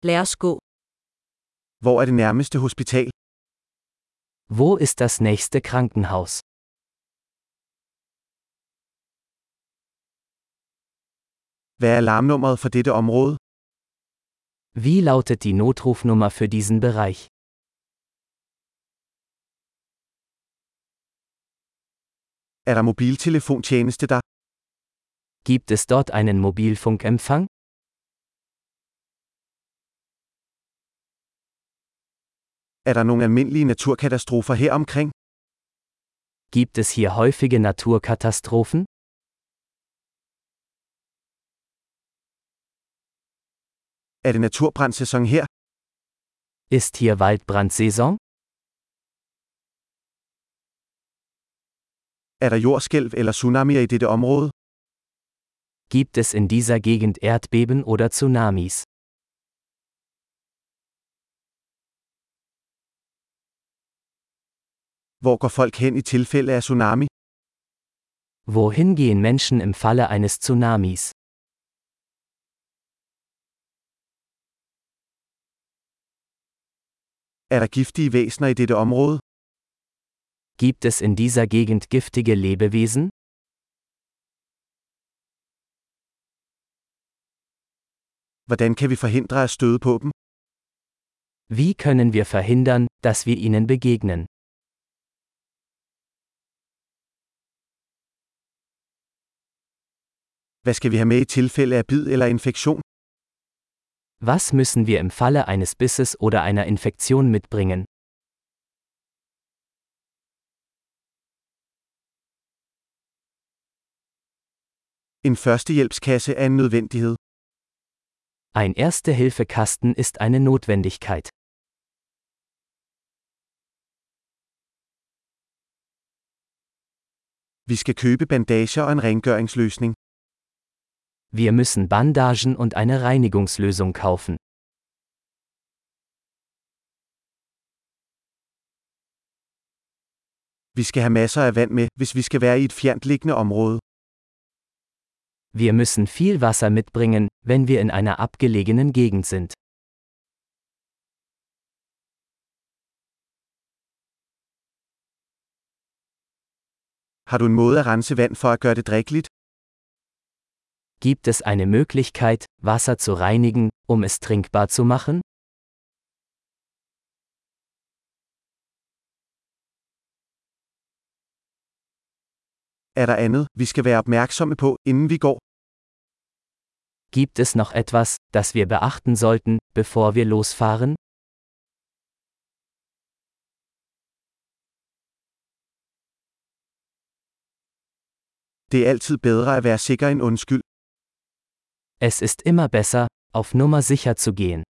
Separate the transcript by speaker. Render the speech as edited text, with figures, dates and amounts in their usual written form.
Speaker 1: Lad os gå.
Speaker 2: Hvor er det nærmeste hospital?
Speaker 3: Wo ist das nächste Krankenhaus?
Speaker 2: Hvad er alarmnummeret for dette område?
Speaker 3: Wie lautet die Notrufnummer für diesen Bereich?
Speaker 2: Er der mobiltelefontjeneste der?
Speaker 3: Gibt es dort einen Mobilfunkempfang?
Speaker 2: Er der nogle almindelige naturkatastrofer her omkring?
Speaker 3: Gibt es hier häufige Naturkatastrophen?
Speaker 2: Er det naturbrandssæson her?
Speaker 3: Ist hier Waldbrandsaison?
Speaker 2: Er der jordskælv eller tsunamier i dette område?
Speaker 3: Gibt es in dieser Gegend Erdbeben oder Tsunamis?
Speaker 2: Hvor går folk hen i tilfælde af tsunami?
Speaker 3: Wohin gehen Menschen im Falle eines Tsunamis?
Speaker 2: Er der giftige væsener i dette område?
Speaker 3: Gibt es in dieser Gegend giftige Lebewesen?
Speaker 2: Hvordan kan vi forhindre at støde på dem?
Speaker 3: Wie können wir verhindern, dass wir ihnen begegnen?
Speaker 2: Hvad skal vi have med i tilfælde af bid eller infektion?
Speaker 3: Was müssen wir im Falle eines Bisses oder einer Infektion mitbringen?
Speaker 2: En førstehjælpskasse er en nødvendighed.
Speaker 3: Ein Erste-Hilfe-Kasten ist eine Notwendigkeit.
Speaker 2: Vi skal købe bandager og en rengøringsløsning.
Speaker 3: Wir müssen Bandagen und eine Reinigungslösung kaufen.
Speaker 2: Vi skal have masser af vand med, hvis vi skal være i et fjerntliggende område.
Speaker 3: Wir müssen viel Wasser mitbringen, wenn wir in einer abgelegenen Gegend sind.
Speaker 2: Har du en måde at rense vand for at gøre det drikkeligt?
Speaker 3: Gibt es eine Möglichkeit, Wasser zu reinigen, um es trinkbar zu machen?
Speaker 2: Er der andet, vi skal være opmærksomme på, inden vi går?
Speaker 3: Gibt es noch etwas, das wir beachten sollten, bevor wir losfahren?
Speaker 2: Det er altid bedre at være sikker end undskyld.
Speaker 3: Es ist immer besser, auf Nummer sicher zu gehen.